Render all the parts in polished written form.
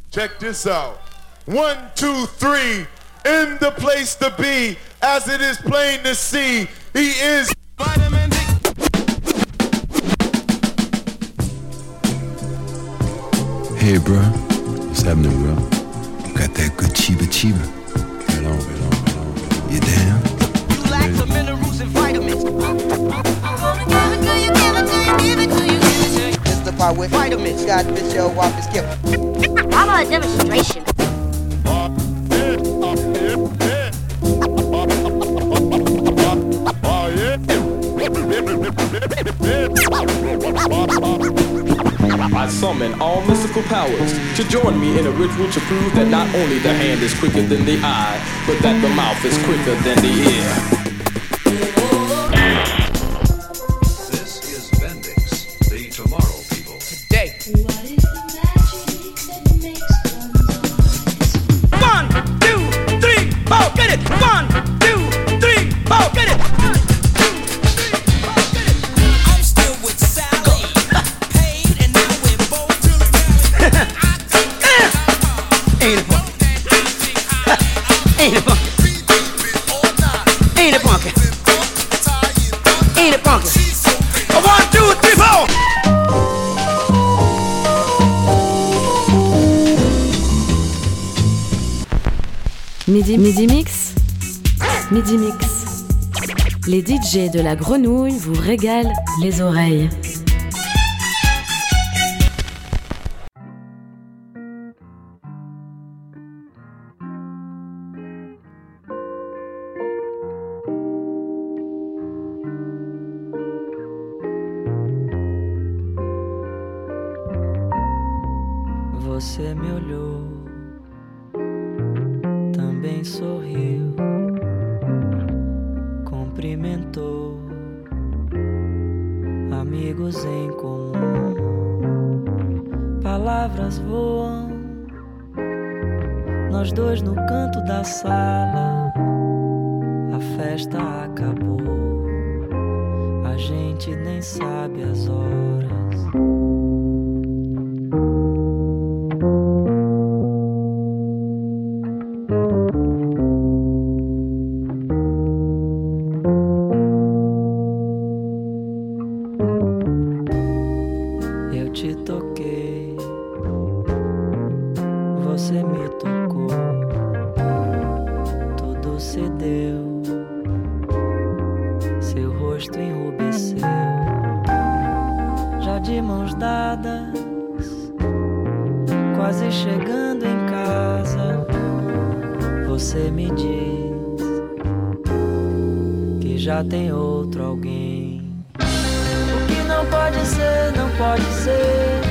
Check this out. 1, 2, 3, in the place to be, as it is plain to see, he is Vitamin D. Hey bro, what's happening bro? Got that good chiba. Right on. You down? You lack the minerals and vitamins. Give it to you. It's the part with vitamins. Got Michelle Walker's gift. How about a demonstration? I summon all mystical powers to join me in a ritual to prove that not only the hand is quicker than the eye, but that the mouth is quicker than the ear. This is Bendix, the Tomorrow People. Today. What is the magic that makes one 1, 2, 3, 4, get it. 1, 2, 3, 4, get it. 1, 2, 3, 4, get it. I'm still with Sally. Paid and now we're both Ain't it funky? Ain't it funky? Ain't it funky? Ain't it funky? 1, 2, 3, 4. Midi Mix. Midi Mix. Les DJ de la Grenouille vous régalent les oreilles. Você me olhou, também sorriu, cumprimentou, amigos em comum, palavras voam, nós dois no canto da sala, a festa acabou, a gente nem sabe as horas. Tem outro alguém. O que não pode ser, não pode ser.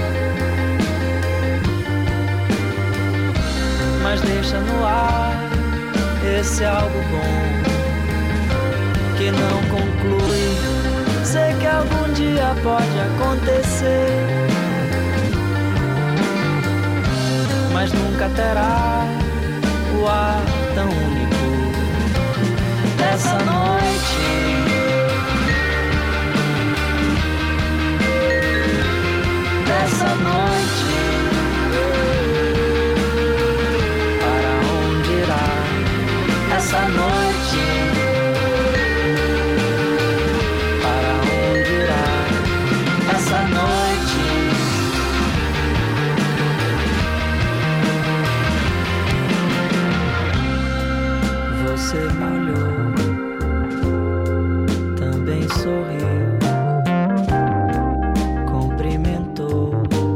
Mas deixa no ar esse algo bom que não conclui. Sei que algum dia pode acontecer, mas nunca terá o ar tão único dessa noite. Dessa noite, para onde irá essa noite? Para onde irá essa noite? Você me olhou, também sorriu, cumprimentou,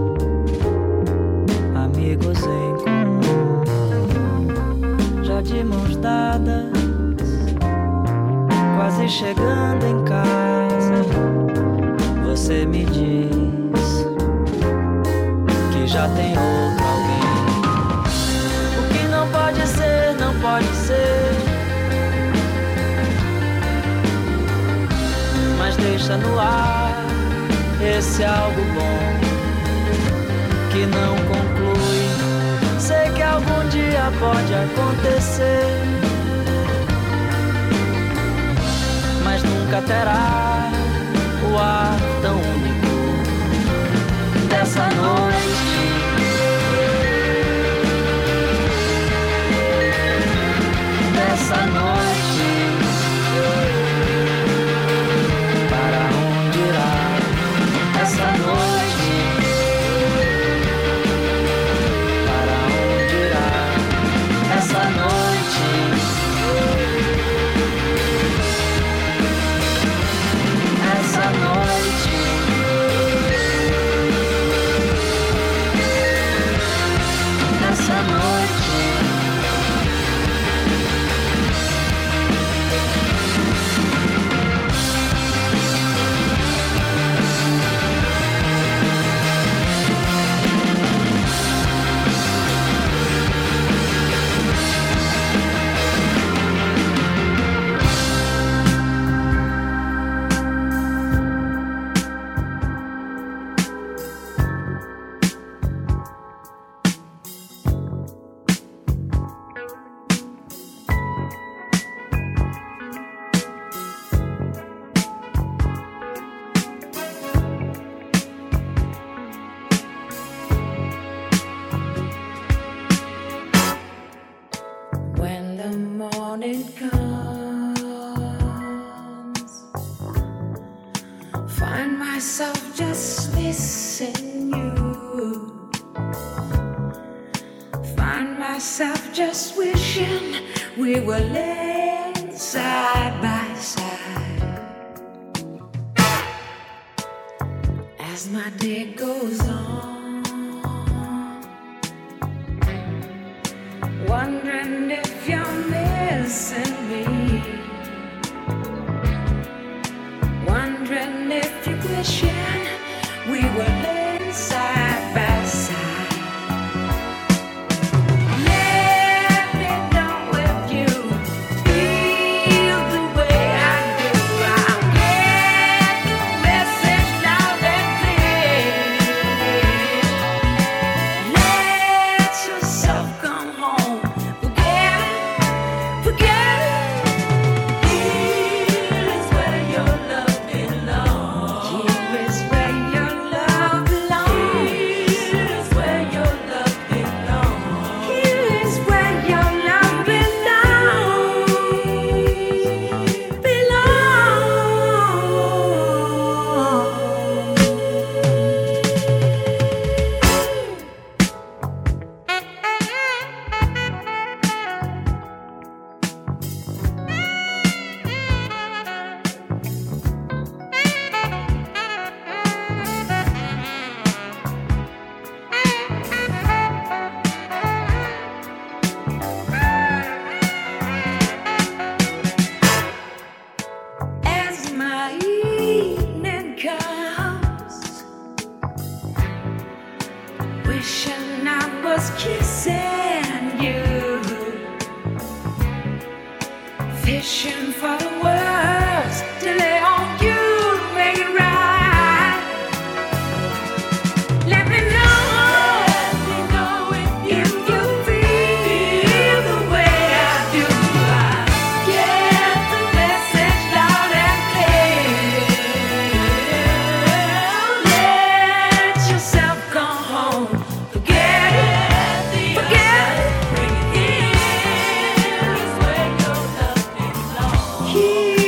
amigos em comum, já de mãos dadas, quase chegando em casa. Você me diz que já tem outro alguém. O que não pode ser, não pode ser. Mas deixa no ar esse algo bom que não conclui. Sei que algum dia pode acontecer, mas nunca terá o ar tão único dessa noite. myself just wishing we were laying side by side. As my day goes on, wondering if you're missing me, wondering if you're wishing we were laying side by side. Wishing I was kissing you, fishing for the words to lay on you to make it right. Let me know if you feel the way I do. I get the message loud and clear. Let yourself go home. Forget it. Bring it in. Is where your love belongs.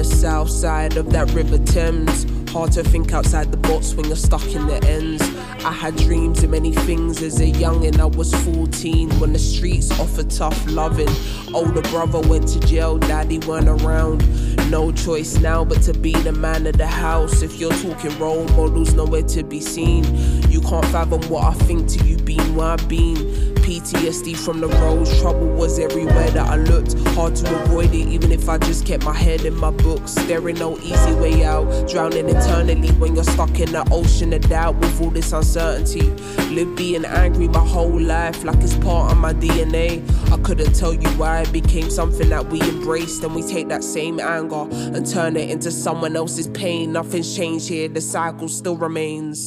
the south side of that River Thames. Hard to think outside the box when you're stuck in the ends. I had dreams of many things as a youngin'. I was 14 when the streets offered tough loving. Older brother went to jail, daddy weren't around. No choice now but to be the man of the house. If you're talking role models, nowhere to be seen. You can't fathom what I think till you been where I've been. PTSD from the roads, trouble was everywhere that I looked. Hard to avoid it even if I just kept my head in my books. There ain't no easy way out, drowning eternally when you're stuck in the ocean of doubt with all this uncertainty. Live being angry my whole life like it's part of my DNA. I couldn't tell you why it became something that we embraced, and we take that same anger and turn it into someone else's pain. Nothing's changed here, the cycle still remains.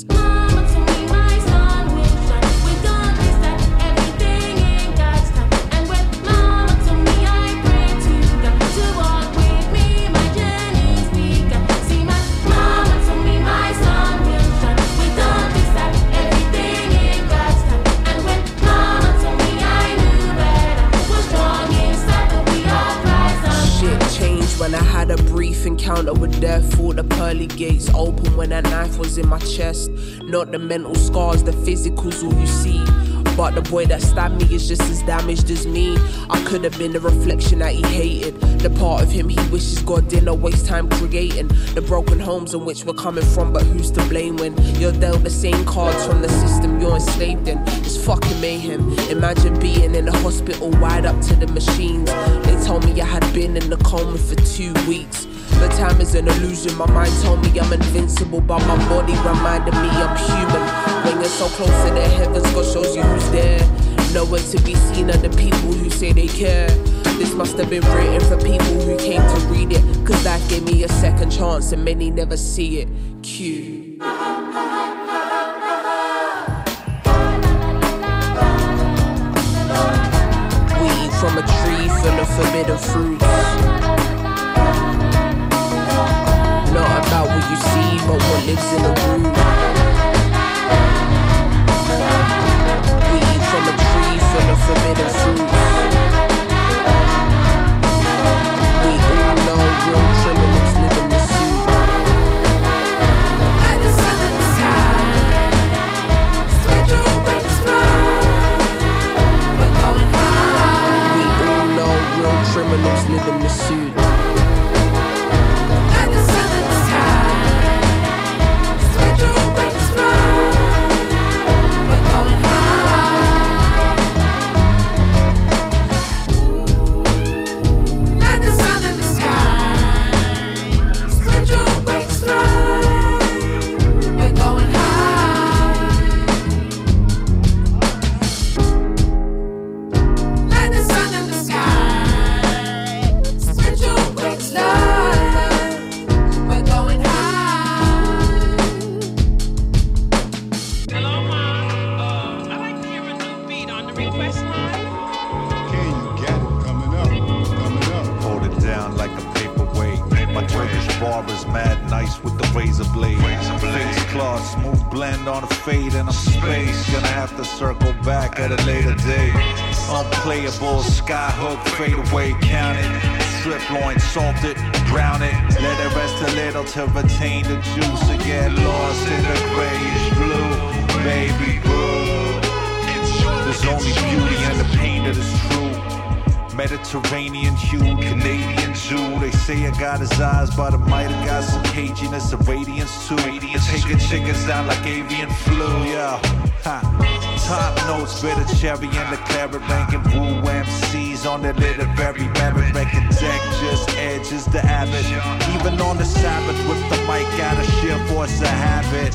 When I had a brief encounter with death, thought the pearly gates open when that knife was in my chest. Not the mental scars, the physical's all you see. But the boy that stabbed me is just as damaged as me. I could have been the reflection that he hated, the part of him he wishes God didn't waste time creating. The broken homes in which we're coming from, but who's to blame when you're dealt the same cards from the system you're enslaved in? It's fucking mayhem. Imagine being in a hospital wired up to the machines. They told me I had been in the coma for 2 weeks. But time is an illusion. My mind told me I'm invincible, but my body reminded me I'm human. When you're so close to the heavens, God shows you who's there. Nowhere to be seen are the people who say they care. This must have been written for people who came to read it, cause life gave me a second chance and many never see it. Q. We eat from a tree full of forbidden fruits. Not about what you see, but what lives in the root. We eat from a tree full of forbidden fruits. We all know real criminals live in the suit. Like the sun in the sky, spread your wings wide. We're going high. We all know real criminals live in the suit. Unplayable, skyhook, fade away, count it. Strip loin, salt it, brown it. Let it rest a little to retain the juice and get lost in the grayish blue. Baby boo, there's only beauty in the pain that is true. Mediterranean hue, Canadian Jew. They say I got his eyes, but I might have got some caginess of radiance too. Taking chickens down like avian flu, yeah. Ha. Top notes, bitter cherry and the claret ranking woo MCs on the literary merit record deck, just edges the abbot. Even on the Sabbath with the mic out of sheer force of habit.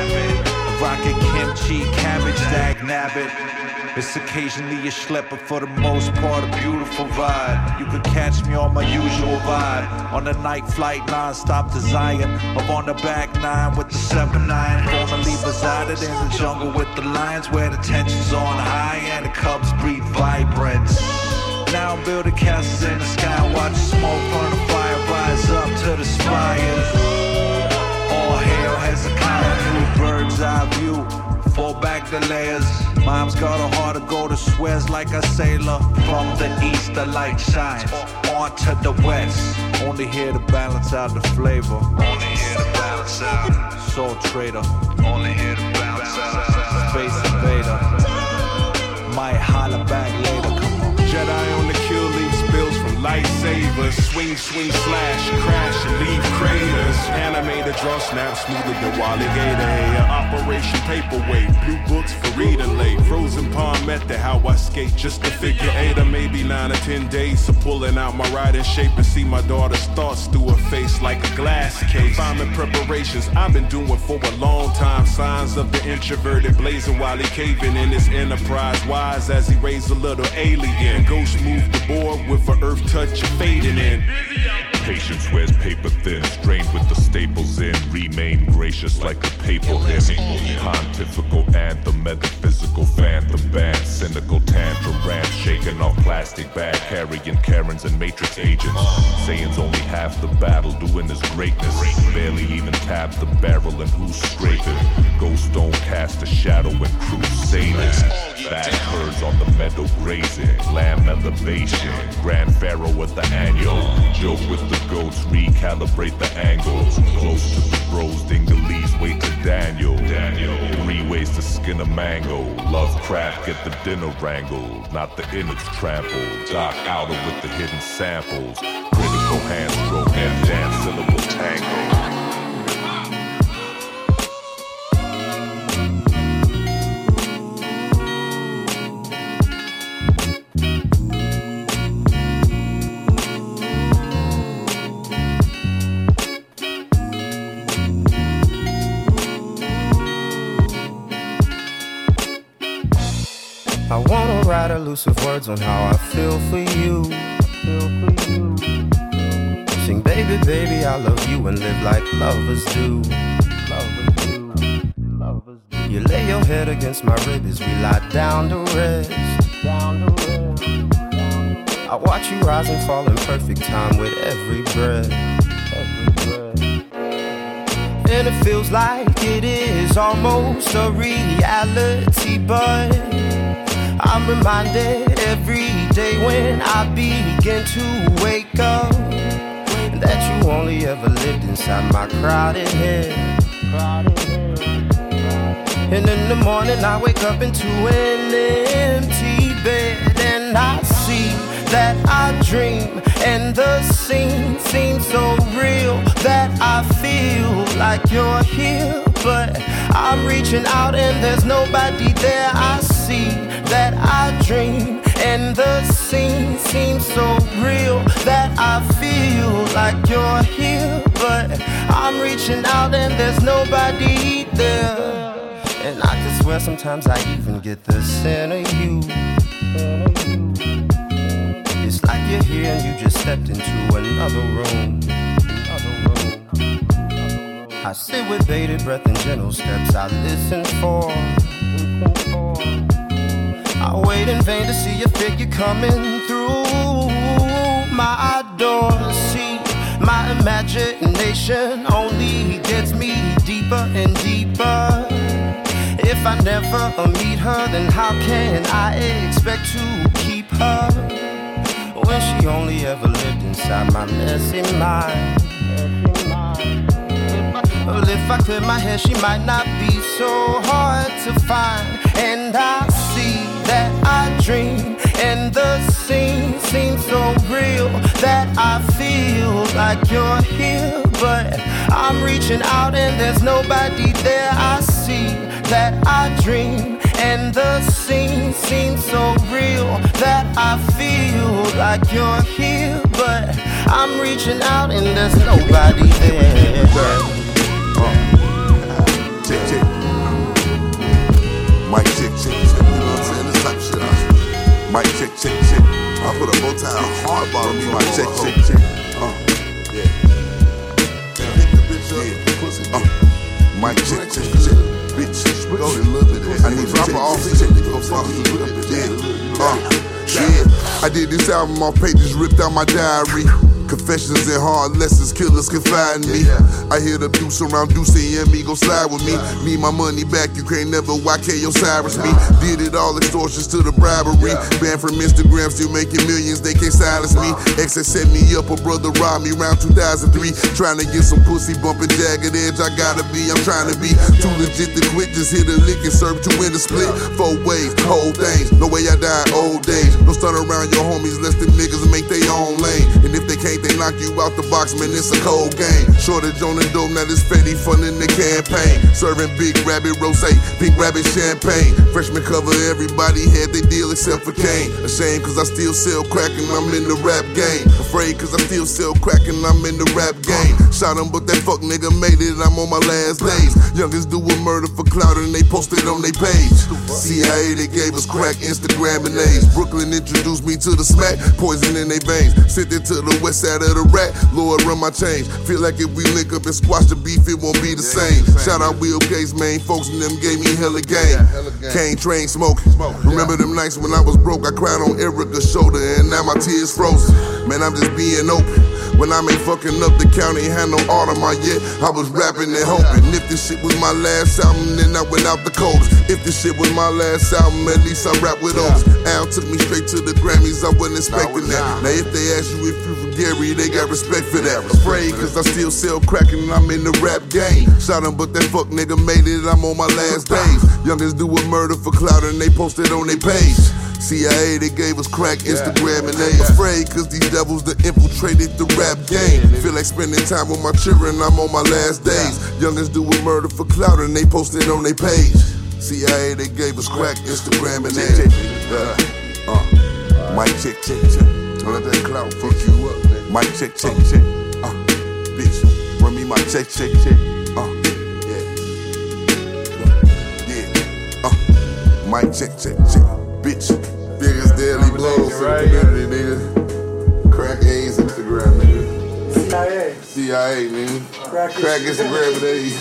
Rocket kimchi, cabbage, dag nabbit. It's occasionally a schlepper, for the most part a beautiful ride. You could catch me on my usual vibe, on the night flight non-stop to Zion, or on the back nine with the 7-9. Formerly resided in the jungle with the lions, where the tension's on high and the cubs breathe vibrance. Now I'm building castles in the sky, watch smoke from the fire rise up to the spires. All hail Hezekiah, new bird's eye view, fall back the layers. Mom's got a heart of gold, swears like a sailor. From the east, the light shines on to the west. Only here to balance out the flavor. Only here to balance out. Soul trader. Only here to balance out. Space invader. Might holler back later. Come on. Jedi on the kill, leave spills from lightsabers. Swing, swing, slash, crash, and leave craters. Animated draw snap smoother than Wally Gator. Operation Paperweight, blue books for reading late. Frozen palm method, how I skate, just a figure 8 or maybe 9 or 10 days. So pulling out my riding shape and see my daughter's thoughts through her face like a glass case. Farming preparations I've been doing for a long time. Signs of the introverted blazing while he caving in his enterprise. Wise as he raised a little alien. Ghost moved the board with an earth touch of fading in. Patience wears paper thin, strained with the staples in. Remain gracious like a papal hymn. Pontifical anthem, metaphysical phantom band. Cynical tantrum rant, shaking off plastic bag. Carrying Karens and Matrix agents. Saying's only half the battle, doing his greatness. Barely even tap the barrel and who's scraping. Ghosts don't cast a shadow when crusading. Bad birds on the meadow grazing. Lamb elevation, Grand Pharaoh at the annual. Joke with the goats, recalibrate the angles. Close to the bros, Dingalese, wait to Daniel. 3 ways to skin a mango. Lovecraft, get the dinner wrangled. Not the innards trampled. Doc Outer with the hidden samples. Critical hand stroke and dance syllable tango. I wanna write elusive words on how I feel for you. Sing baby, baby, I love you and live like lovers do. You lay your head against my rib as we lie down to rest. I watch you rise and fall in perfect time with every breath. And it feels like it is almost a reality, but I'm reminded every day when I begin to wake up that you only ever lived inside my crowded head. And in the morning I wake up into an empty bed, and I see that I dream, and the scene seems so real that I feel like you're here. But I'm reaching out and there's nobody there. I see that I dream, and the scene seems so real that I feel like you're here. But I'm reaching out and there's nobody there. And I can swear sometimes I even get the scent of you. It's like you're here and you just stepped into another room. I sit with bated breath and gentle steps I listen for. I wait in vain to see your figure coming through my door. See, my imagination only gets me deeper and deeper. If I never meet her, then how can I expect to keep her when she only ever lived inside my messy mind? Well, if I clear my hair, she might not be so hard to find. And I see that I dream, and the scene seems so real that I feel like you're here. But I'm reaching out and there's nobody there. I see that I dream, and the scene seems so real that I feel like you're here. But I'm reaching out and there's nobody there. Check, check. Mic check, check, check. You know what I'm saying? This type of shit. Mic check, check, check. I put a bow tie hard bottom me. Mic check, check, check. Yeah. Pick the bitch up. Mic check, check, check. Bitch, go a little bit. I need to drop her off. Check, go fuck it. Yeah. I did this album on pages ripped out my diary. Confessions and hard lessons, killers confide in me. I hear the deuce around Deuce and me, go slide with me. Need my money back, you can't never YK Osiris me. Did it all, extortions to the bribery. Banned from Instagram, still making millions, they can't silence me. Exes set me up, a brother robbed me around 2003. Trying to get some pussy, bumping jagged edge, I gotta be, I'm trying to be too legit to quit, just hit a lick and serve 2 in the split. 4 ways, whole things, no way I die old days. Don't stun around your homies, less them niggas make their own lane. And if they can't, they knock you out the box, man, it's a cold game. Shortage on the dope, now this Fetty funding the campaign. Serving big rabbit rosé, pink rabbit champagne. Freshman cover, everybody had their deal except for Kane. Ashamed cause I still sell crack and I'm in the rap game. Afraid cause I still sell crack and I'm in the rap game. Shot him but that fuck nigga made it, I'm on my last days. Youngest do a murder for clout and they posted on their page. CIA, they gave us crack, Instagram and A's. Brooklyn introduced me to the smack, poison in their veins. Sent it to the west side of the rat, Lord run my change. Feel like if we link up and squash the beef, it won't be the same. Shout out Will Gates, main folks and them gave me hella game. Cane train smoking. Remember them nights when I was broke, I cried on Erica's shoulder and now my tears frozen. Man, I'm just being open. When I ain't fucking up the county, had no art on my yet. I was rapping and hoping. If this shit was my last album, then I went out the coldest. If this shit was my last album, at least I rap with Otis. Al took me straight to the Grammys, I wasn't expecting that. Now if they ask you if you from Gary, they got respect for that. Afraid cause I still sell crack and I'm in the rap game. Shot him but that fuck nigga made it, I'm on my last days. Youngest do a murder for clout and they posted on their page. CIA, they gave us crack, Instagram, and they afraid cause these devils that infiltrated the rap game. Feel like spending time with my children, I'm on my last days. Youngest do a murder for clout and they posted on their page. CIA, they gave us crack, Instagram, and they mic check, check, check. Don't let that clout fuck you up. Mic check, check, check. Bitch, run me my check, check, check. Mic check, check, check. Bitch, biggest daily blows to the community, nigga. Crack A's Instagram, nigga. CIA, nigga. Crack Instagram with A's.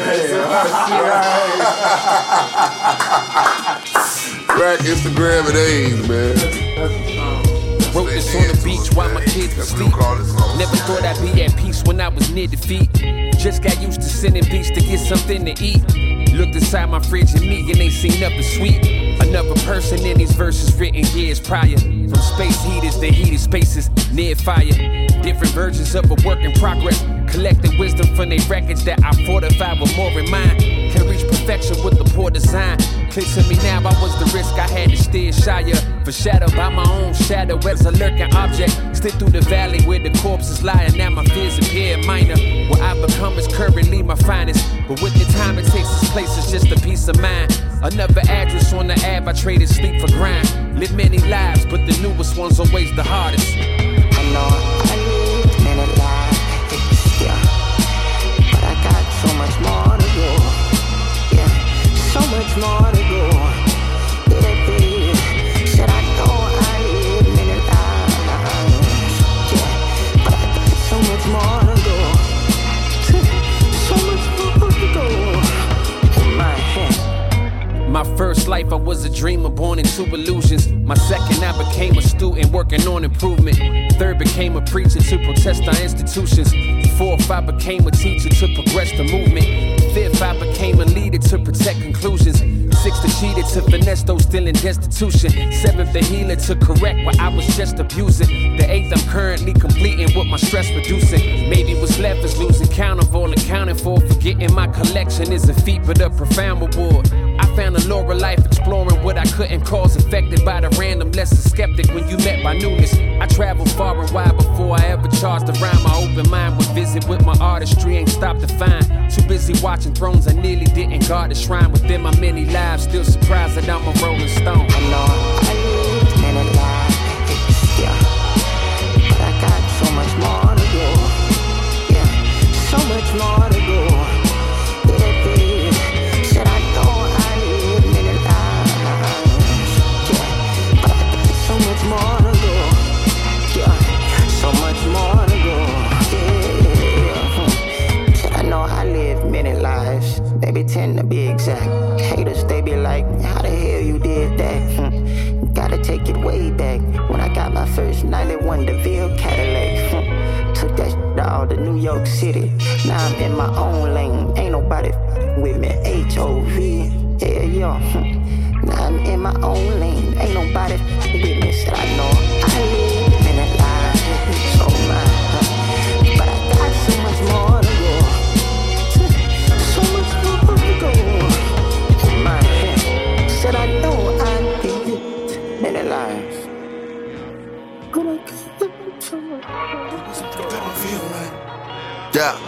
Crack Instagram with A's, man. Wrote this on the beach while my kids were asleep. Never thought I'd be at peace when I was near defeat. Just got used to sending beats to get something to eat. Looked inside my fridge and me and ain't seen nothing sweet. Another person in these verses written years prior. From space heaters to heated spaces near fire. Different versions of a work in progress. Collecting wisdom from their records that I fortified with more in mind. Can reach perfection with the poor design. Clear to me now, I was the risk I had to steer shyer. Foreshadowed by my own shadow as a lurking object. Slid through the valley where the corpses lie, and now my fears appear minor. What I become is currently my finest. But with the time it takes this place is just a peace of mind. Another address on the app, I traded sleep for grind. Live many lives, but the newest one's always the hardest. I know I lived many lives, yeah, but I got so much more to go, yeah, so much more to go, yeah, said I know I lived many lives, yeah, but I got so much more to go, so much more to go, in my head. My first life, I was a dreamer born into illusions. My second, I became a student working on improvement. Third, became a preacher to protest our institutions. Fourth, I became a teacher to progress the movement. Fifth, I became a leader to protect conclusions. Sixth, the cheater to finesse those still in destitution. Seventh, the healer to correct what I was just abusing. The eighth, I'm currently completing what my stress reducing. Maybe what's left is losing count of all accounting for. Forgetting my collection is a feat, but a profound reward. I found a lore of life exploring what I couldn't cause. Affected by the random, less a skeptic when you met my newness. I traveled far and wide before I ever charged a rhyme. My open mind would visit with my artistry, ain't stopped to find. Too busy watching thrones, I nearly didn't guard the shrine. Within my many lives, still surprised that I'm a rolling stone. I know I lived many lives, yeah, but I got so much more to go, yeah, so much more to go, yeah, said I know I lived many lives, yeah, but I got so much more to go, yeah, so much more to go, yeah, said I know I lived many lives, maybe 10 to be exact. Haters, they be like, how the hell you did that? Gotta take it way back when I got my first 91 DeVille Cadillac. Took that shit all to New York City. Now I'm in my own lane. Ain't nobody with me. H-O-V. Yeah, yeah. Now I'm in my own lane. Ain't nobody with me. Said I know I live in a lie. So mine. But I got so much more to go. So much more to go. Man, said I know I live in a lie. But I got so much more. Yeah.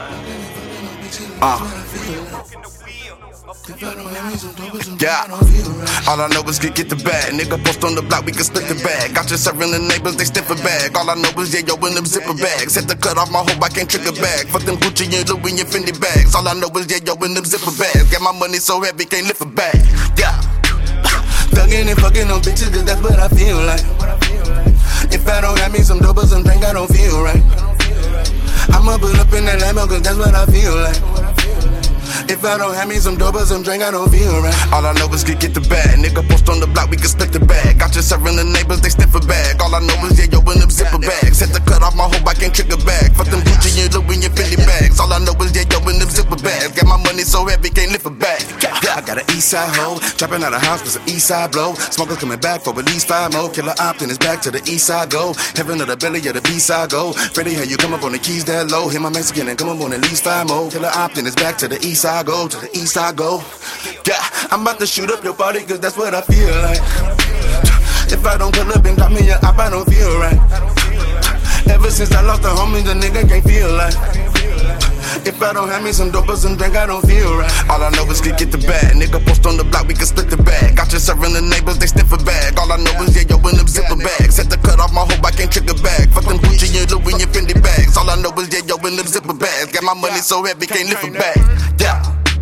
Yeah. All I know is get the bag. Nigga post on the block, we can split the bag. Got you serving the neighbors, they stiff a bag. All I know is yeah, yo, in them zipper bags. Had to cut off my hope, I can't trigger bag. Fuck them Gucci and Louis and Fendi bags. All I know is yeah, yo, in them zipper bags. Got my money so heavy, can't lift a bag. Yeah. Thuggin' and fucking on bitches, cause that's what I feel like. If I don't have me some dope or some drink, I don't feel right. I'ma pull up in that Lambo, cause that's what I feel like. If I don't have me some dope or some drink, I don't feel right. All I know is get the bag. Nigga post on the block, we can split the bag. Got you serving the neighbors, they sniff a bag. All I know is yeah, yo, in them zipper bags. Had to cut off my hope, I can't trigger bag. Fuck them Gucci and Louis and Fendi bags. All I know is yeah, yo, in them zipper bags. Got my money so heavy, can't lift a bag. I got an east side hoe, dropping out of house with an east side blow. Smokers coming back for at least 5 more. Killer Optin is back to the east side go. Heaven of the belly of the B side go. Freddie, how you come up on the keys that low? Hit my Mexican and come up on at least 5 more. Killer Optin is back to the east side go. To the east side go. Yeah, I'm about to shoot up your body cause that's what I feel like. If I don't pull up and drop me up, I don't feel right. Ever since I lost the homie, the nigga can't feel like. If I don't have me some dope or some drink, I don't feel right. All I know is get the bag. Nigga post on the block, we can split the bag. Got you serving the neighbors, they sniff a bag. All I know is yeah, yo, in them zipper bags. Had to cut off my hope, I can't trigger bag. Fuck them Gucci and Louis and Fendi bags. All I know is yeah, yo, in them zipper bags. Got my money so heavy, can't lift a bag. Yeah.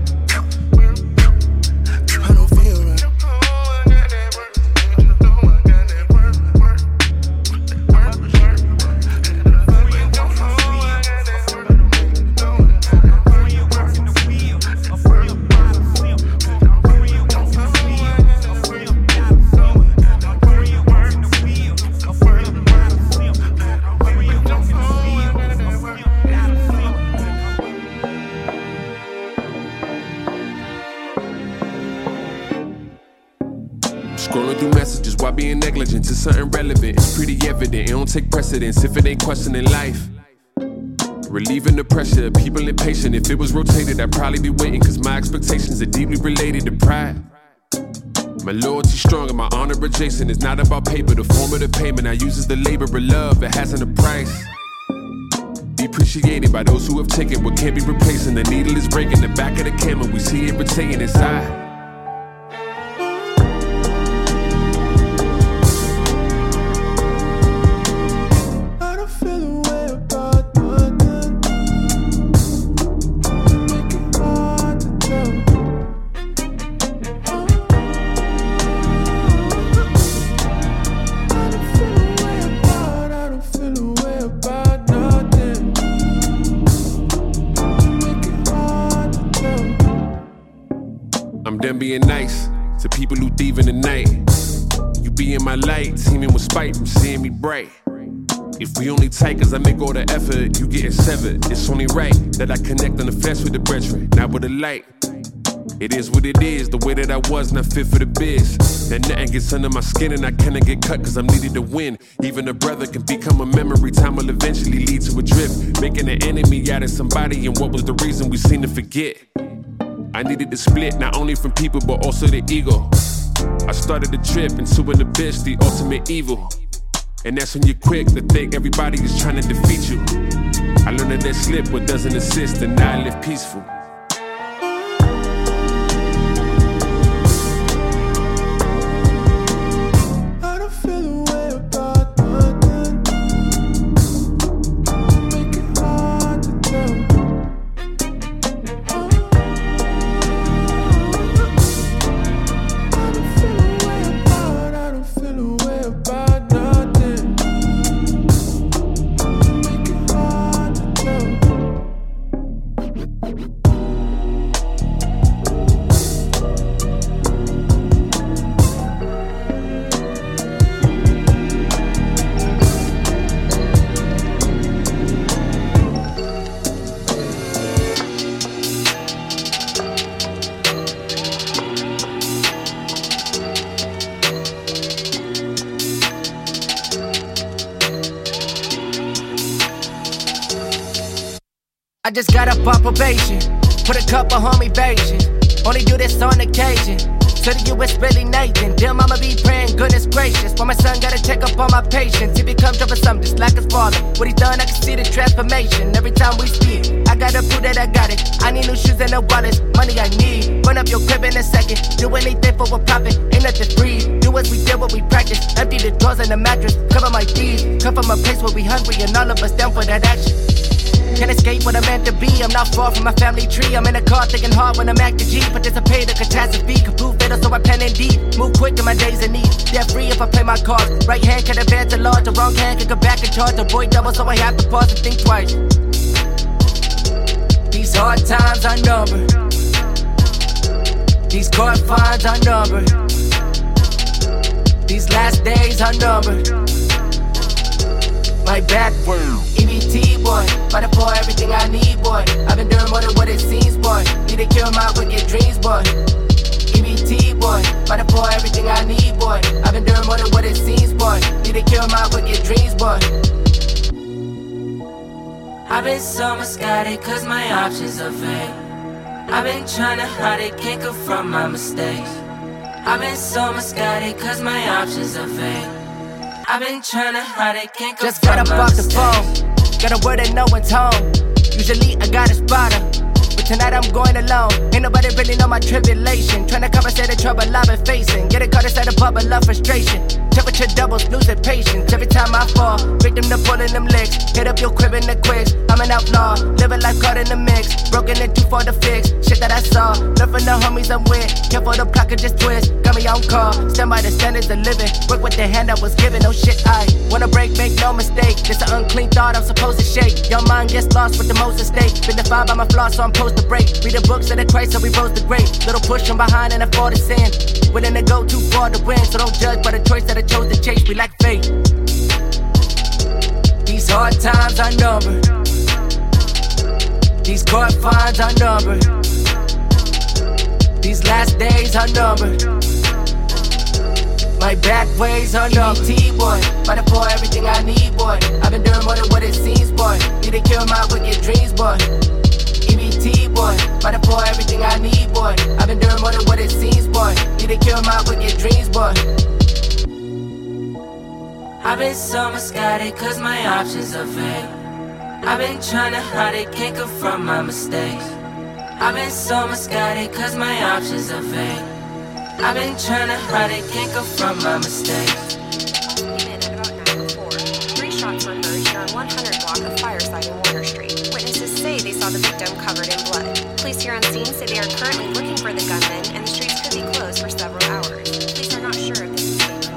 Scrolling through messages while being negligent to something relevant. It's pretty evident, it don't take precedence if it ain't questioning life. Relieving the pressure, people impatient. If it was rotated, I'd probably be waiting, cause my expectations are deeply related to pride. My loyalty strong and my honor adjacent. It's not about paper, the form of the payment I use is the labor of love, it hasn't a price. Be appreciated by those who have taken what can't be replaced, and the needle is breaking the back of the camera, we see it rotating inside. I'm done being nice to people who thieve in the night. You be in my light, teeming with spite from seeing me bright. If we only tight cause I make all the effort, you getting severed. It's only right that I connect on the flesh with the brethren, not with the light. It is what it is, the way that I was not fit for the biz. And nothing gets under my skin and I cannot get cut cause I'm needed to win. Even a brother can become a memory, time will eventually lead to a drift. Making an enemy out of somebody, and what was the reason we seem to forget? I needed to split, not only from people, but also the ego. I started the trip into an abyss, the ultimate evil. And that's when you're quick to think everybody is trying to defeat you. I learned that slip what doesn't assist, and now I live peaceful. I just got up on probation. Put a couple homie versions. Only do this on occasion. To the US, really Nathan. Damn, I'ma be praying, goodness gracious. Why my son gotta check up on my patience. He becomes troublesome, just like his father. What he's done, I can see the transformation. Every time we speak, I gotta prove that I got it. I need new shoes and a wallet. Money I need. Run up your crib in a second. Do anything for a profit. Ain't nothing free. Do as we did, what we practice. Empty the drawers and the mattress. Cover my fees. Come from a place where we hungry and all of us down for that action. Can't escape what I'm meant to be. I'm not far from my family tree. I'm in a car thinking hard when I'm acting G. Participate in catastrophe. Can prove fatal, so I pen and deep. Move quick in my days of need. Debt free if I play my cards. Right hand can advance a lot. The wrong hand can go back and charge. Avoid double, so I have to pause and think twice. These hard times are numbered. These court fines are numbered. These last days are numbered. My back, EBT boy, fighting for everything I need, boy. I've been doing more than what it seems, boy. Need to kill my wicked dreams, boy. EBT boy, fighting for everything I need, boy. I've been doing more than what it seems, boy. Need to kill my wicked dreams, boy. I've been so misguided cause my options are vague. I've been trying to hide it, can't confront my mistakes. I've been so misguided cause my options are vague. I've been trying to hide it, can't just got up off the phone. Got a word that no one's home. Usually I got a spotter, but tonight I'm going alone. Ain't nobody really know my tribulation. Trying to compensate the trouble I've been facing. Getting caught inside a bubble of frustration. Temperature doubles, losing patience. Every time I fall, victim to pulling them legs. Hit up your crib in the quicks. I'm an outlaw, living life caught in the mix. Broken and too far to fix. Shit that I saw, learn from the homies I'm with. Careful the plot could just twist. Got me on call, stand by the standards of living. Work with the hand I was given. No shit, I wanna break, make no mistake. This an unclean thought I'm supposed to shake. Your mind gets lost with the most at stake. Been defined by my flaws, so I'm supposed to break. Read the books of the Christ, so we rose the great. Little push from behind and I fall to sin. Willing to go too far to win, so don't judge by the choice that I chose to chase. We like fate. These hard times are numbered. These court fines are numbered. These last days are numbered. My back ways are numbered. EBT boy, fighting for everything I need, boy. I've been doing more than what it seems, boy. Need to kill my wicked dreams, boy. EBT boy, fighting for everything I need, boy. I've been doing more than what it seems, boy. Need to kill my wicked dreams, boy. I've been so misguided cause my options are vague. I've been trying to hide it, can't confront my mistakes. I've been so misguided cause my options are vague. I've been trying to hide it, can't confront my mistakes. Three shots were heard here on 100 block of Fireside and Warner Street. Witnesses say they saw the victim covered in blood. Police here on scene say they are currently looking for the gunman and the streets could be closed for several hours. Police are not sure if this is safe.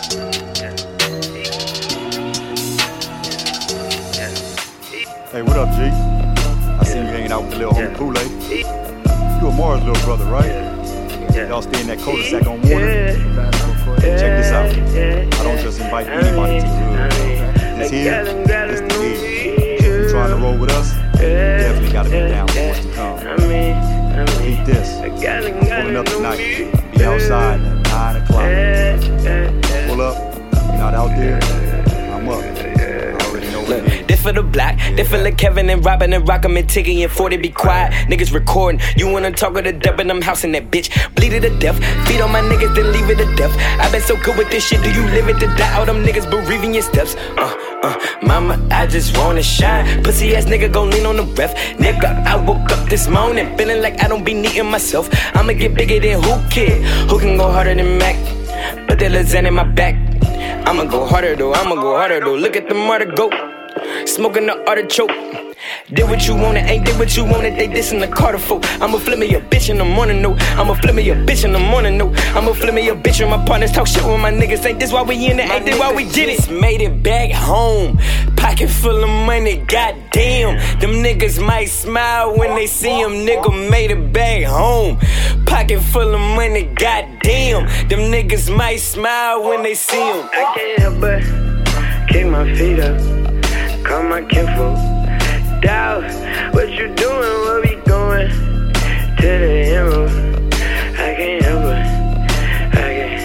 Hey, what up, G? I see you hanging out with the little homie Kool-Aid. You a Mars little brother, right? Y'all stay in that cul-de-sac on Warner? Check this out. I don't just invite anybody to the hood. This here, this the deal. If you trying to roll with us, you definitely gotta be down for what's to come. Beat this. Pulling up tonight. Be outside at 9 o'clock. Pull up. You're not out there. I'm up. Look, this for the block, this for Lil' Kevin and Robin and Rock'em and Tiggy and 40 be quiet. Niggas recording, you wanna talk with the dub and I'm housing that bitch. Bleed it to death, feed on my niggas then leave it to death. I been so good with this shit, do you live it to die? All them niggas bereaving your steps. Mama, I just wanna shine. Pussy ass nigga gon' lean on the ref. Nigga, I woke up this morning feeling like I don't be needing myself. I'ma get bigger than who kid? Who can go harder than Mac? Put that lasagna in my back. I'ma go harder though, Look at the martyr go. Smoking the artichoke. Did what you wanted, ain't did what you wanted. They dissin' the Carter folk. I'ma flip me a bitch in the morning, no. I'ma flip me a bitch in the morning, no. I'ma flip me a bitch when my partners talk shit with my niggas. Ain't this why we in it, ain't this why we did it. Made it back home. Pocket full of money, goddamn. Them niggas might smile when they see him. Nigga made it back home. Pocket full of money, goddamn. Them niggas might smile when they see him. I can't help but kick my feet up. Call my kinfolk. Doubt what you doing, where we going? To the emerald. I can't help but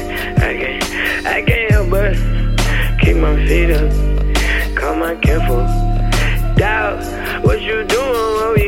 I can't help but keep my feet up. Call my kinfolk. Doubt what you doing, where we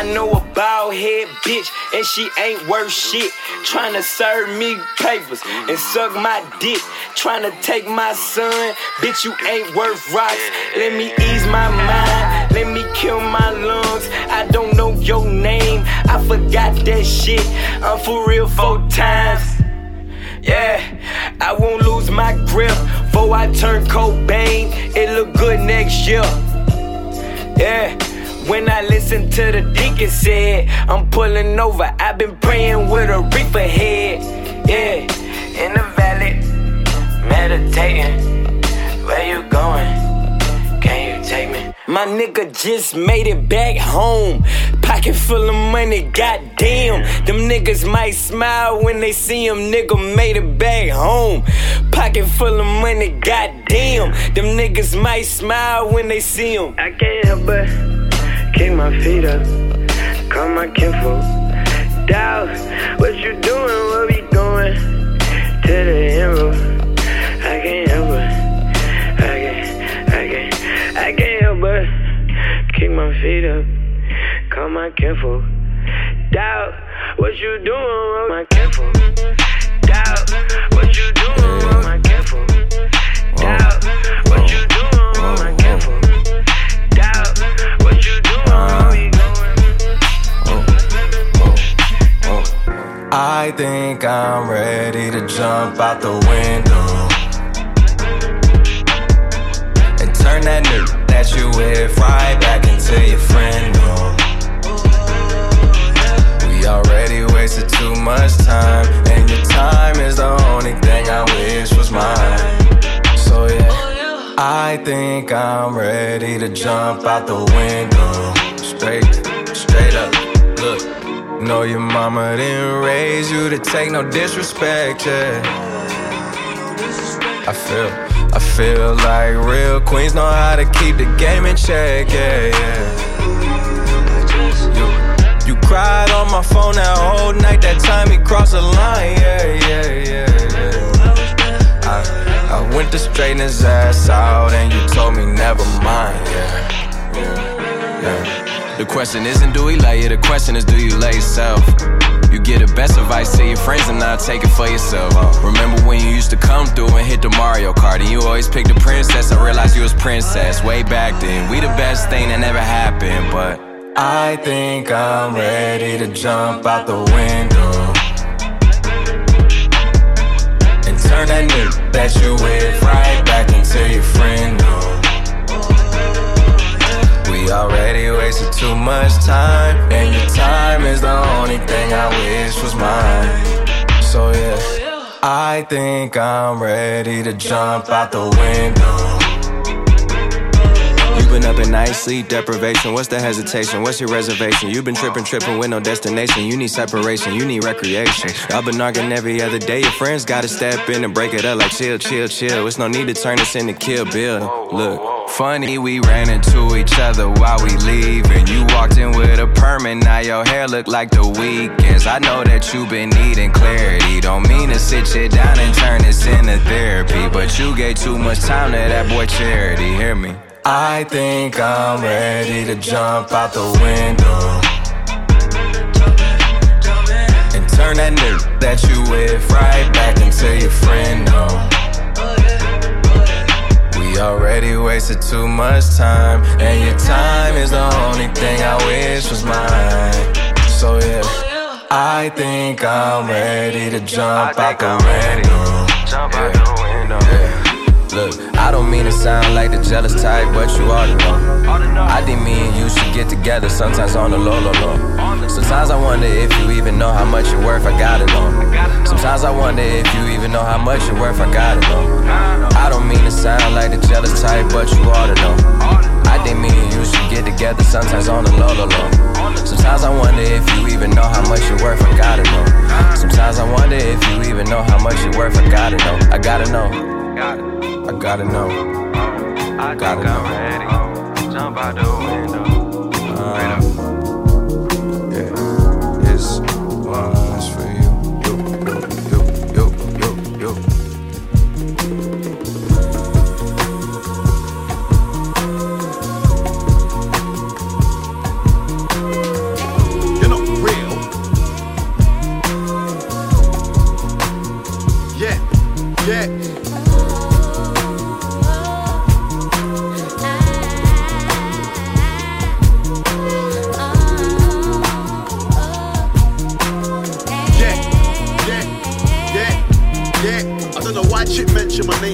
know a bald head bitch, and she ain't worth shit. Tryna serve me papers and suck my dick. Tryna take my son, bitch, you ain't worth rocks. Let me ease my mind, let me kill my lungs. I don't know your name, I forgot that shit. I'm for real 4 times. Yeah, I won't lose my grip before I turn Cobain. It look good next year. Yeah, when I listen to the deacon said I'm pulling over, I've been praying with a reefer head. Yeah, in the valley, meditating. Where you going? Can you take me? My nigga just made it back home. Pocket full of money, goddamn. Them niggas might smile when they see him. Nigga made it back home. Pocket full of money, goddamn. Them niggas might smile when they see him. I can't help but kick my feet up, call my kinfolk. Doubt what you doing, where we going? To the end road. I can't help but, I can't help but kick my feet up, call my kinfolk. Doubt what you doing with my kinfolk. Doubt what you doing with my kinfolk. Doubt what you doing with my kinfolk. Doubt what you doing where we going. I think I'm ready to jump out the window and turn that nigga that you with right back into your friend. We already wasted too much time, and your time is the only thing I wish was mine. So yeah, I think I'm ready to jump out the window. Straight up, look. Know your mama didn't raise you to take no disrespect, yeah. I feel like real queens know how to keep the game in check, yeah, yeah. You cried on my phone that whole night, that time he crossed the line, yeah. I went to straighten his ass out and you told me never mind, yeah. The question isn't do he love you, the question is do you love yourself? You get the best advice to your friends and now take it for yourself. Remember when you used to come through and hit the Mario Kart and you always picked the princess? I realized you was princess way back then. We the best thing that never happened, but I think I'm ready to jump out the window and turn that nigga that you with right back into your friend. We already wasted too much time, and your time is the only thing I wish was mine. So yeah, I think I'm ready to jump out the window. You've been up at night, sleep deprivation. What's the hesitation? What's your reservation? You've been tripping with no destination. You need separation, you need recreation. Y'all been arguing every other day. Your friends gotta step in and break it up like chill. It's no need to turn this into Kill Bill. Look, funny, we ran into each other while we leaving. You walked in with a permit, now your hair look like the weekends. I know that you been needing clarity. Don't mean to sit you down and turn this into therapy, but you gave too much time to that boy Charity. Hear me? I think I'm ready to jump out the window and turn that nigga that you with right back into your friend. We already wasted too much time, and your time is the only thing I wish was mine. So yeah, I think I'm ready to jump out the window. Yeah. Look, I don't mean to sound like the jealous type, but you ought to know. I didn't mean you should get together, sometimes on the low. Sometimes I wonder if you even know how much you're worth, I gotta know. Sometimes I wonder if you even know how much you're worth, I gotta know. I don't mean to sound like the jealous type, but you ought to know. I didn't mean you should get together, sometimes on the low. Sometimes I wonder if you even know how much you're worth, I gotta know. Sometimes I wonder if you even know how much you're worth, I gotta know. I gotta know. I gotta know. I gotta know. I'm ready. Jump out the window. Yeah, it's for you. Yo.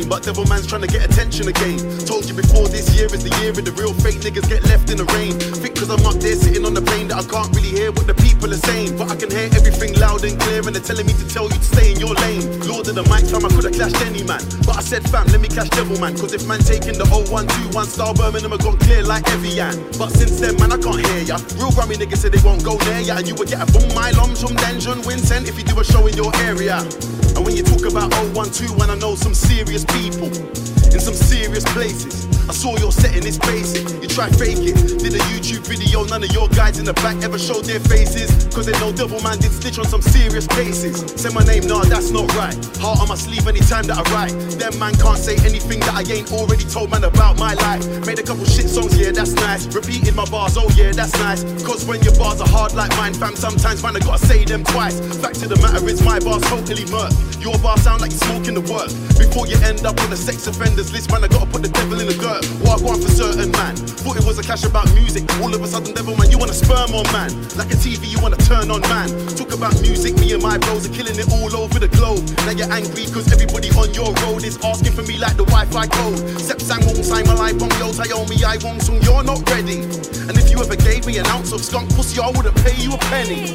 fame, but devil man's trying to get attention again. Told you before, this year is the year of the real fake niggas get left in the rain. Think cause I'm up there sitting on the plane that I can't really hear what the people are saying, but I can hear everything loud and clear, and they're telling me to tell you to stay in your lane. Lord of the mic, fam, I could've clashed any man, but I said fam, let me clash devil man, cause if man taking the 0121 style Birmingham I gone clear like Evian. But since then man I can't hear ya. Real Grammy niggas say they won't go near ya, and you would get a boom my lums from Denjon Vincent if you do a show in your area. And when you talk about 0121, I know some serious people in some serious places. I saw your setting, it's basic. You try fake it. Did a YouTube video, none of your guys in the back ever showed their faces, cause they know devil man did stitch on some serious cases. Say my name, nah, that's not right. Heart on my sleeve anytime that I write. Them man can't say anything that I ain't already told man about my life. Made a couple shit songs, yeah, that's nice. Repeated my bars, oh yeah, that's nice. Cause when your bars are hard like mine, fam, sometimes man I gotta say them twice. Fact of the matter is my bars totally murk. Your bars sound like you're smoking the work. Before you end up on the sex offenders list, man, I gotta put the devil in the dirt. What I want for certain man. Thought it was a clash about music. All of a sudden, devil man, you wanna sperm on man. Like a TV, you wanna turn on man. Talk about music, me and my bros are killing it all over the globe. Now you're angry cause everybody on your road is asking for me like the Wi-Fi code. Sep sang won't sign my life on yo, Tayomi, I won't soon, you're not ready. And if you ever gave me an ounce of skunk pussy, I wouldn't pay you a penny.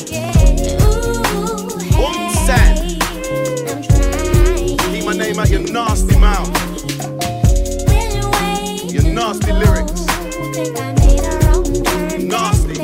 One cent. Keep my name out your nasty mouth. Your nasty lyrics. Nasty.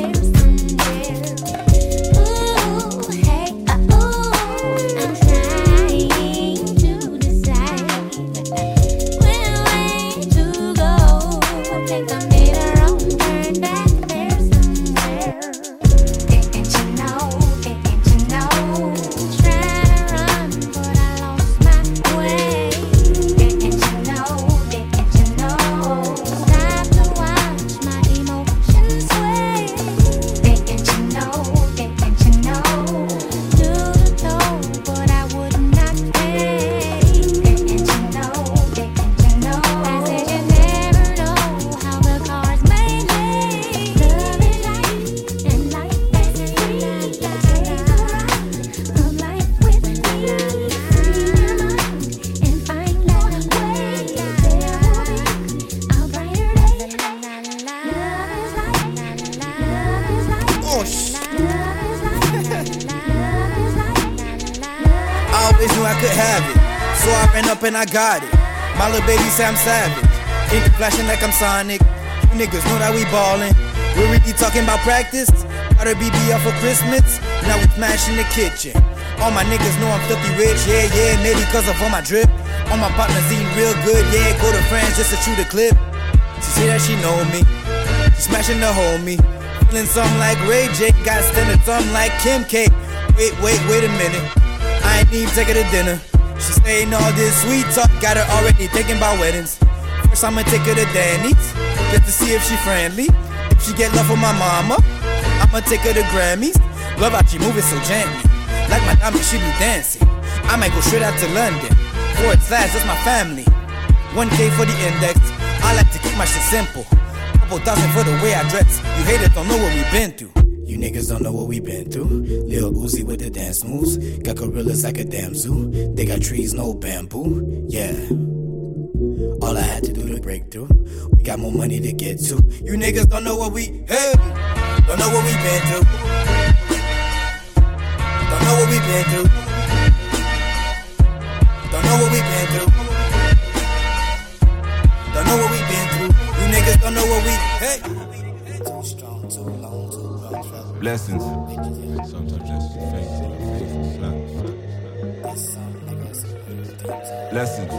And I got it. My little baby say I'm savage. Ink flashing like I'm Sonic. You niggas know that we ballin'. We really talking about practice. Got a BB up for Christmas. Now we smashing the kitchen. All my niggas know I'm filthy rich. Yeah, yeah, maybe cause of all my drip. All my partners eating real good. Yeah, go to France just to shoot a clip. She say that she know me. She smashing the homie. Feeling something like Ray J. Got standing something like Kim K. Wait a minute. I ain't even take her to dinner. She saying all this sweet talk, got her already thinking about weddings. First I'ma take her to Danny's, just to see if she friendly. If she get love from my mama, I'ma take her to Grammys. Love how she moving so gently, like my diamond she be dancing. I might go straight out to London, /, that's my family. 1K for the index, I like to keep my shit simple. Couple thousand for the way I dress, you haters don't know what we been through. You niggas don't know what we been through. Lil Uzi with the dance moves. Got gorillas like a damn zoo. They got trees, no bamboo. Yeah. All I had to do to break through. We got more money to get to. You niggas don't know what we, hey, don't know what we been through. Don't know what we been through. Don't know what we been through. Don't know what we been through. You niggas don't know what we, hey. Too strong, too long, too long. Blessings. Sometimes just Blessings.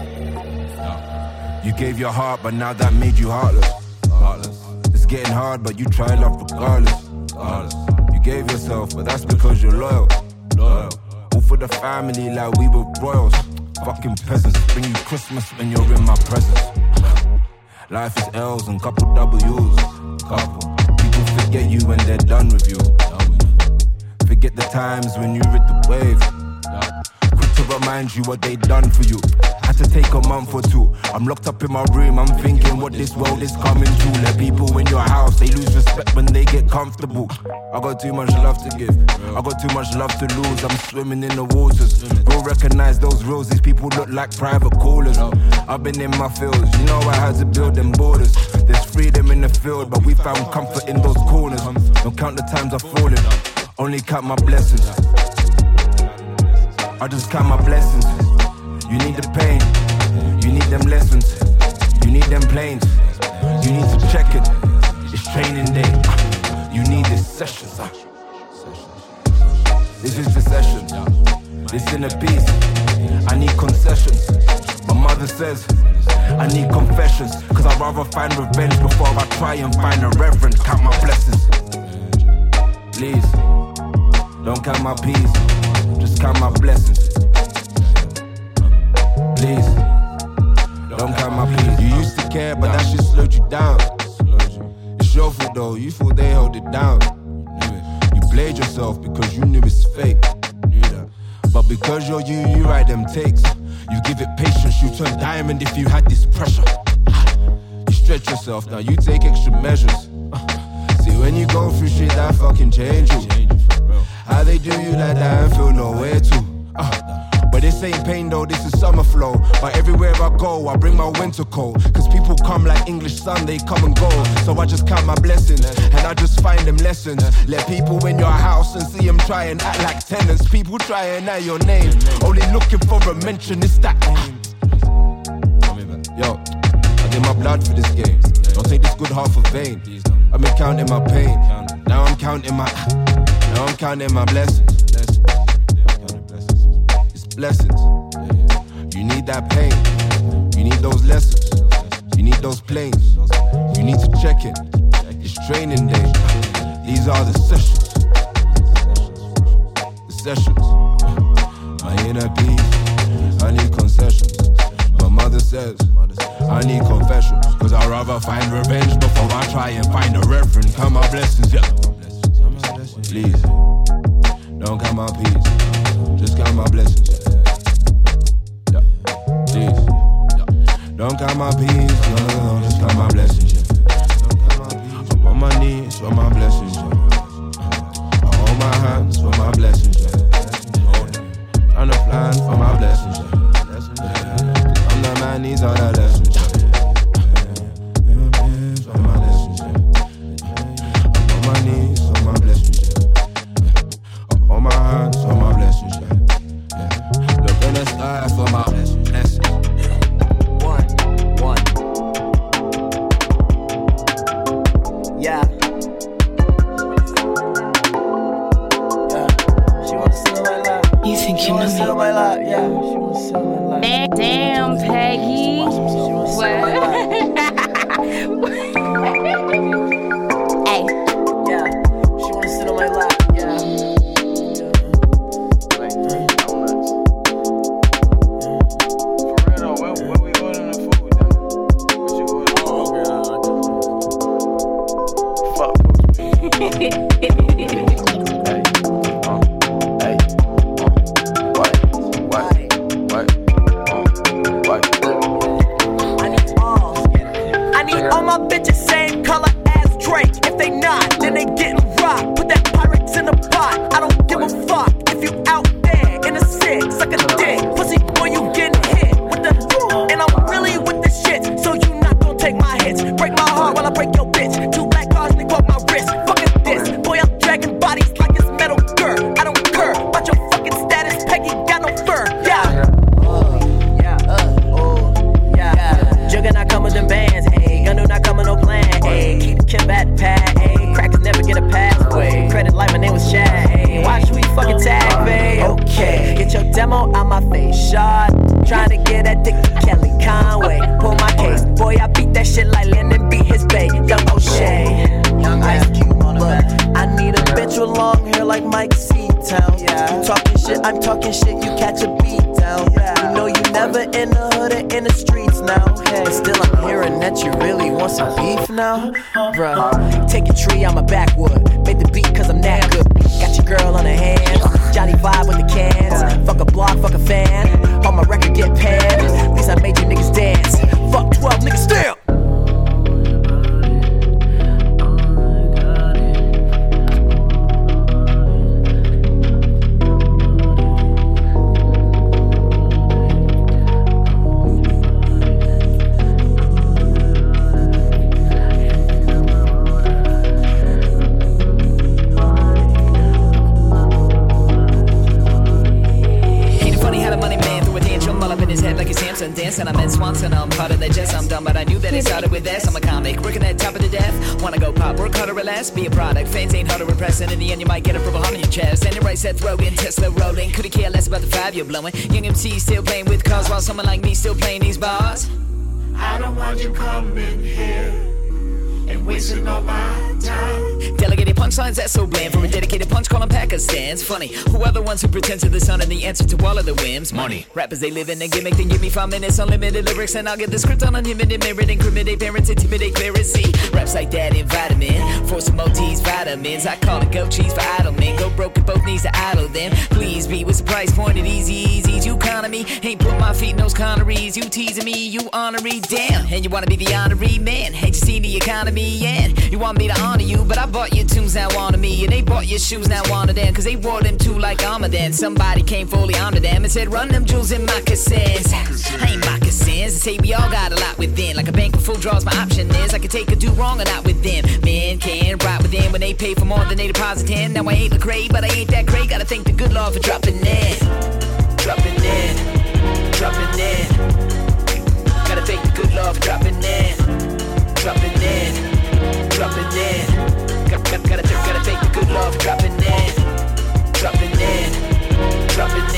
You gave your heart, but now that made you heartless. It's getting hard, but you try love regardless. You gave yourself, but that's because you're loyal. All for the family like we were royals. Fucking peasants, bring you Christmas when you're in my presence. Life is L's and couple W's. People forget you when they're done with you. Forget the times when you rid the wave. Quick to run my remind you what they done for you. Had to take a month or two. I'm locked up in my room, I'm thinking what this world is coming to. Let people in your house, they lose respect when they get comfortable. I got too much love to give, I got too much love to lose. I'm swimming in the waters. Bro, recognize those rules, these people look like private callers. I've been in my fields, you know I had to build them borders. There's freedom in the field, but we found comfort in those corners. Don't count the times I've fallen, only count my blessings. I just count my blessings. You need the pain, you need them lessons, you need them planes, you need to check it. It's training day, you need this session. This is the session, this inner peace. I need concessions. My mother says I need confessions, cause I'd rather find revenge before I try and find a reverend. Count my blessings. Please, don't count my peace, just count my blessings. Please, don't count my peace. You used to care, but that shit slowed you down. It's your fault though, you thought they held it down. You played yourself because you knew it's fake. But because you're you write them takes. You give it patience, you turn diamond if you had this pressure. You stretch yourself, now you take extra measures. See, when you go through shit, that fucking change you. How they do you like that and feel nowhere to. But this ain't pain though, this is summer flow. But everywhere I go, I bring my winter coat. Cause people come like English sun, they come and go. So I just count my blessings, and I just find them lessons. Let people in your house and see them try and act like tenants. People try and add your name, only looking for a mention, it's that. Yo, I give my blood for this game. Don't take this good heart for vain. I've been counting my pain, now I'm counting my blessings. Blessings. You need that pain. You need those lessons. You need those planes. You need to check it. It's training day. These are the sessions. The sessions. My inner peace. I need concessions. My mother says I need confessions. Cause I'd rather find revenge before I try and find a reference. Count my blessings, yeah. Please, don't count my peace. Just count my blessings. Don't count my peace, no, just count my blessings, yeah. I'm on my knees for my blessings, yeah. I hold my hands for my blessings, yeah. Trying to plan for my blessings, yeah. I'm the man, these are the lessons, yeah. For my lessons, yeah. I'm on my knees for my blessings, yeah. I hold my hands for my blessings, yeah. Look in the sky for my blessings. Yeah. She wanna see my life. You think you know me? My life. Yeah. She wanna see my life. Damn, Peggy. What? Hey. Yeah. She wanna sit on my lap. Yeah. I need all my bitches same color as Drake. If they not, then they getting rocked. Put that Pyrex in the pot. I don't give a fuck if you out there in a six, suck a dick. Pussy boy, you getting hit with the and I'm really with the shit. So you not gonna take my hits. Break my heart while I break your bitch. 2 black cars, nigga, off my wrist. Fucking this. Boy, I'm dragging bodies like it's Metal Gear. I don't care about your fucking status. Peggy got no fur. Yeah. Jugger not come with them bands, ayy. Gun do not come with no plan, ayy. Keep the Kim at the pad, ayy. Crackers never get a pathway. Credit like my name was Shad, ayy. Why should we fucking tag, babe? Okay, get your demo out my face, shot. Trying to get that dick to Kelly Conway. Pull my case, boy, I beat that shit like Lennon beat his bae. Young O'Shea, young Ice Cube on the back. I need a bitch with long hair like Mike C-Town. Yeah. You talking shit, I'm talking shit, you catch a beat down. Yeah. You know you never in the hood or in the streets now. Hey, still I'm hearing that you really want some beef now. Bruh, take a tree, I'm a backwood. Made the beat cause I'm that good. Got your girl on her hands. Johnny vibe with the cans. Fuck a block, fuck a fan. this, and I meant Swanson. I'm part of the jest, I'm dumb, but I knew that it started with this. I'm a comic, working at top of the death. Wanna go pop, work harder or less, be a product. Fans ain't hard to repress, and in the end, you might get a purple heart on your chest. And it right set throating, Tesla rolling. Could've cared less about the 5 you're blowing. Young MC still playing with cars, while someone like me still playing these bars. I don't want you coming here and wasting all my time. Delegated punchlines, that's so bland. For a dedicated punch, calling Pakistan's funny. Who are the ones who pretend to the sun and the answer to all of the whims? Money. Rappers, they live in a gimmick, then give me 5 minutes, unlimited lyrics, and I'll get the script on unlimited merit, incriminate parents, intimidate clarity. Raps like that in vitamin, for some OT's vitamins. I call it goat cheese for idle men. Go broke at both knees to idle them. Please be, what's the price point at Easy's economy? Ain't put my feet in those conneries. You teasing me, you honorary, damn. And you wanna be the honorary man. Hate to see the economy, and you want me to honor you, but I bought your tunes, now honor me. And they bought your shoes, now honor them, cause they wore them too like armor then. Somebody came fully onto them and said, run them jewels in moccasins. Ain't moccasins, they say we all got a lot within. Like a bank with full draws, my option is I can take a do wrong or not with them. Men can't ride with them when they pay for more than they deposit in. Now I ain't Lecrae, but I ain't that great. Gotta thank the good Lord for dropping in. Dropping in. Dropping in. Gotta thank the good Lord for dropping in. Dropping in. Dropping in. Gotta thank the good Lord for dropping in. Dropping in. Dropping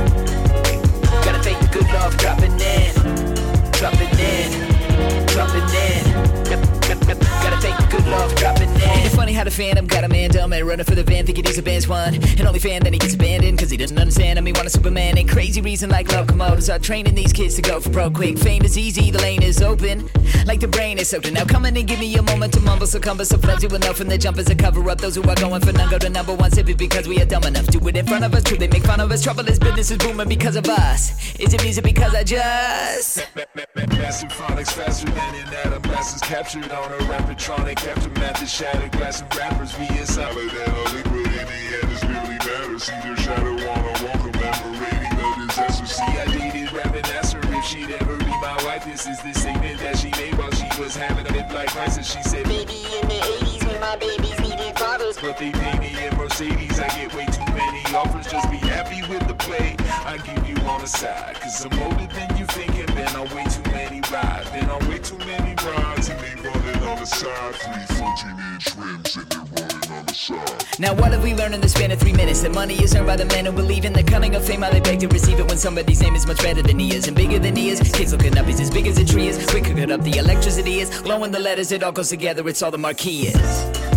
in. Gotta thank the good Lord for dropping in. Dropping in. Dropping in. Gotta thank the good Lord for dropping in. Ain't it funny how the Phantom got a man dumb and running for the van, thinking he's a Benz one. And only fan that he gets abandoned, cause he doesn't understand him, he want a Superman. And crazy reason like locomotives are training these kids to go for broke quick. Fame is easy, the lane is open, like the brain is open. Now come in and give me a moment to mumble, so cumber, so flimsy with enough from the jumpers to cover up. Those who are going for none go to number one simply because we are dumb enough. Do it in front of us, true, they make fun of us. Trouble is business is booming because of us. Is it music because I just Massive phonics faster than an atom. Masses captured on a rapidtronic aftermath. The shattered glass of rappers. We is solid and a liquid in the end. It's really matter. See their shadow on a wall commemorating the disaster. See, I dated rapping, asked her if she'd ever be my wife. This is the statement that she made while she was having a midlife crisis. She said, maybe in the 80s when my babies needed fathers, but they pay me in Mercedes. I get way too many offers. Just be happy with the play I give you on the side. Cause I'm older than you think and been on way too many rides. Been on way too many rides and they running on the side. 3 14-inch rims and they're running on the side. Now what have we learned in the span of 3 minutes? That money is earned by the men who believe in the cunning of fame. How they beg to receive it when somebody's name is much better than he is and bigger than he is. Kids looking up, he's as big as a tree is. We could cut up the electricity is. Glowing the letters, it all goes together, it's all the marquee is.